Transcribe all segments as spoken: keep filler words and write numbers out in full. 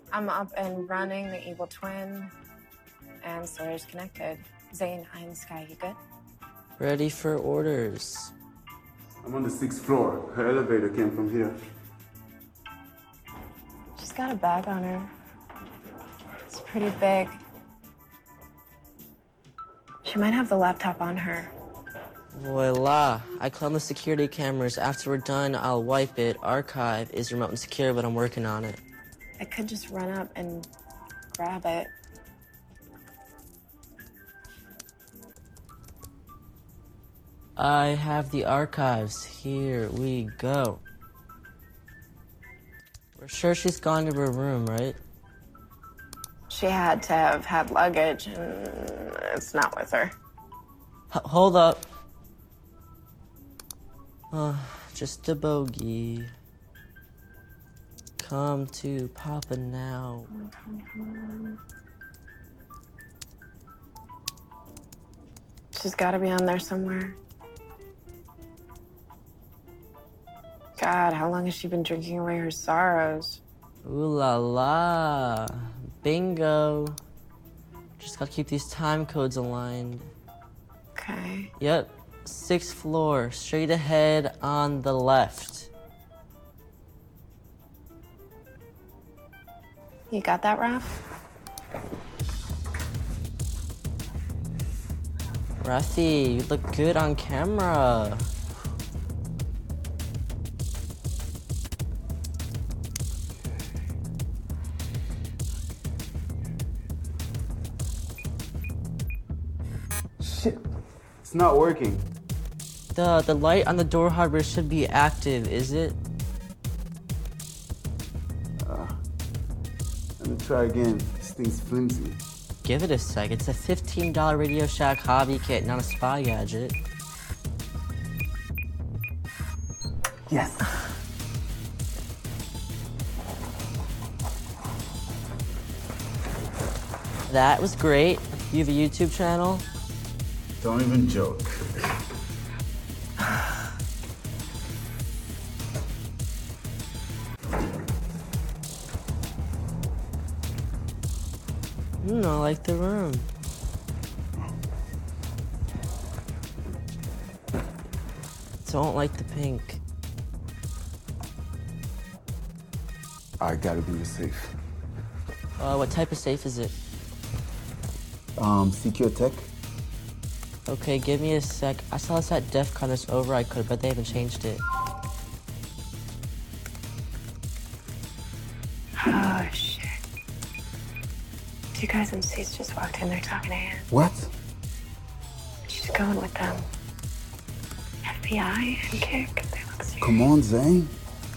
I'm up and running, the evil twin, and Sawyer's connected. Zane, I'm Sky, you good? Ready for orders. I'm on the sixth floor. Her elevator came from here. She's got a bag on her. It's pretty big. She might have the laptop on her. Voila. I clone the security cameras. After we're done, I'll wipe it. Archive is remote and secure, but I'm working on it. I could just run up and grab it. I have the archives. Here we go. We're sure she's gone to her room, right? She had to have had luggage, and it's not with her. H- hold up. Uh, just a bogey. Come to Papa now. She's got to be on there somewhere. God, how long has she been drinking away her sorrows? Ooh la la. Bingo. Just gotta keep these time codes aligned. Okay. Yep. Sixth floor. Straight ahead on the left. You got that, Raph? Rafi, you look good on camera. Shit. It's not working. The the light on the door hardware should be active, is it? Uh, let me try again. This thing's flimsy. Give it a sec. It's a fifteen dollar Radio Shack hobby kit, not a spy gadget. Yes. That was great. You have a YouTube channel? Don't even joke. Hmm, I like the room. Don't like the pink. I gotta be the safe. Uh, what type of safe is it? Um, Secure Tech? Okay, give me a sec. I saw this at DEF CON. There's over I could, but they haven't changed it. Oh, shit. Two guys in suits just walked in. They're talking to Anne. What? She's going with them. F B I and Kick. They look serious. Come on, Zane.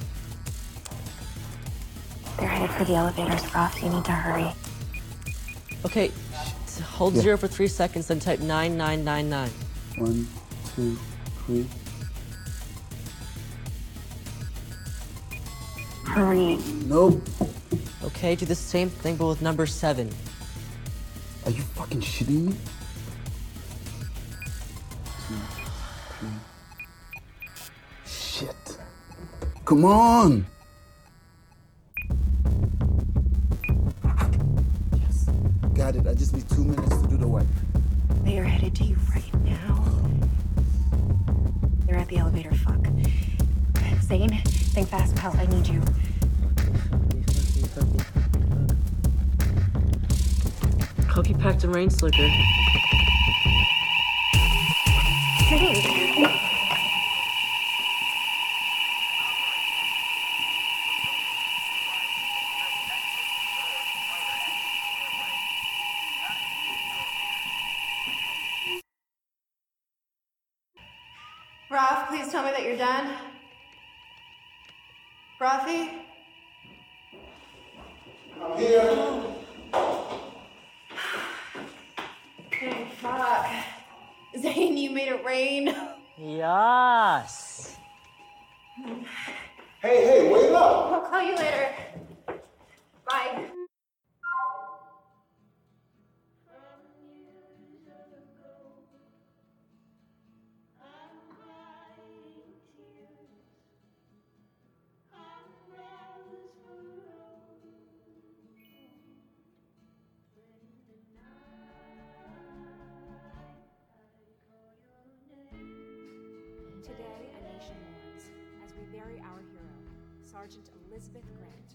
They're headed for the elevators, Roth. You need to hurry. Okay, hold Yeah. zero for three seconds, then type nine nine nine nine. One, two, three. Hurry. Nope. Okay, do the same thing, but with number seven. Are you fucking shitting me? Two, three. Shit. Come on! Yes. Got it. I just need two minutes to do the wipe. They are headed to you right now. They're at the elevator. Fuck. Zane, think fast, pal. I need you. Cookie packed and rain slicker. Zane! Ralph, please tell me that you're done. Rafi? I'm here. Oh, fuck. Zane, you made it rain. Yes. Hey, hey, wait up! I'll call you later. Bye. bury our hero, Sergeant Elizabeth Grant.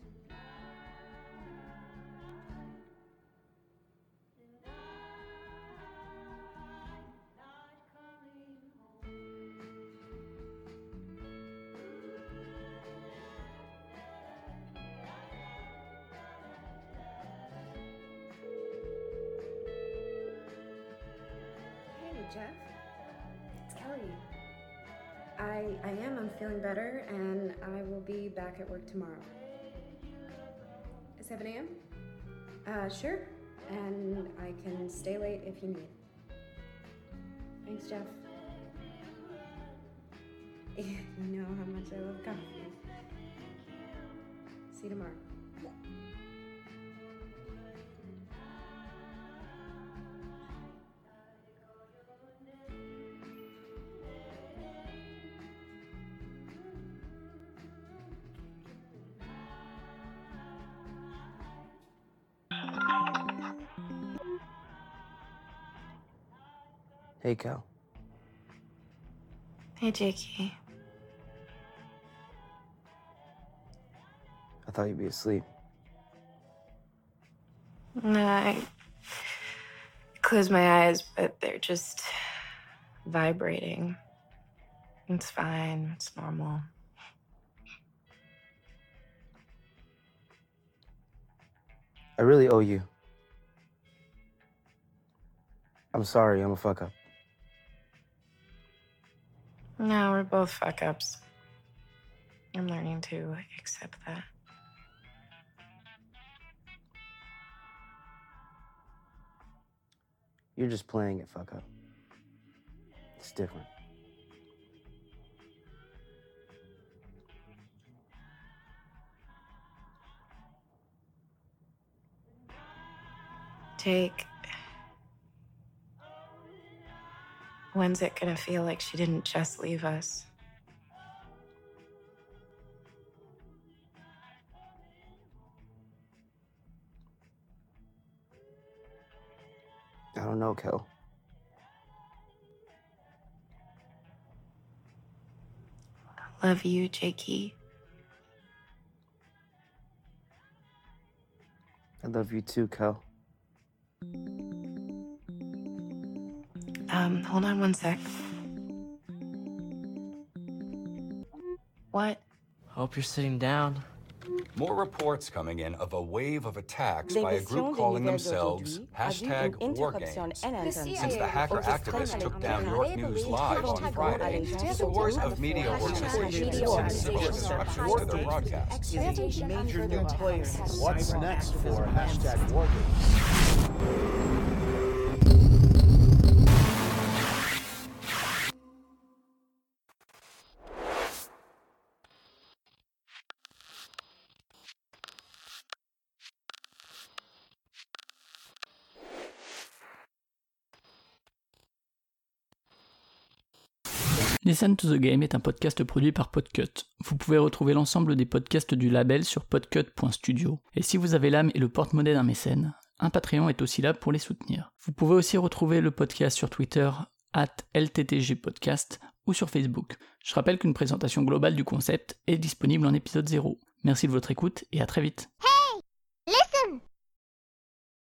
Jeff, it's Kelly. I I am, I'm feeling better, and I will be back at work tomorrow. seven a.m.? Uh, sure. And I can stay late if you need. Thanks, Jeff. You know how much I love coffee. See you tomorrow. Hey, Cal. Hey, Jakey. I thought you'd be asleep. No, I close my eyes, but they're just vibrating. It's fine. It's normal. I really owe you. I'm sorry, I'm a fuck up. No, we're both fuck ups. I'm learning to accept that. You're just playing it fuck up. It's different. Jake, when's it gonna feel like she didn't just leave us? I don't know, Kel. Love you, Jakey. I love you too, Kel. Um, hold on one sec. What? Hope you're sitting down. More reports coming in of a wave of attacks by a group calling themselves hashtag Wargames. Since the hacker activists took down York News Live on Friday, scores of media organizations have seen similar disruptions to their broadcasts. Major new players. What's next for hashtag Wargames? Listen to the Game est un podcast produit par Podcut. Vous pouvez retrouver l'ensemble des podcasts du label sur podcut point studio. Et si vous avez l'âme et le porte-monnaie d'un mécène, un Patreon est aussi là pour les soutenir. Vous pouvez aussi retrouver le podcast sur Twitter, arobase L T T G podcast, ou sur Facebook. Je rappelle qu'une présentation globale du concept est disponible en épisode zéro. Merci de votre écoute et à très vite.